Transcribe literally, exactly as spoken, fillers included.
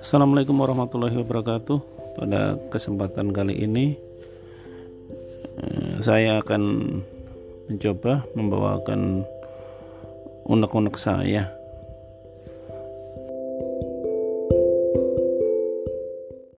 Assalamualaikum warahmatullahi wabarakatuh. Pada kesempatan kali ini saya akan mencoba membawakan unek-unek saya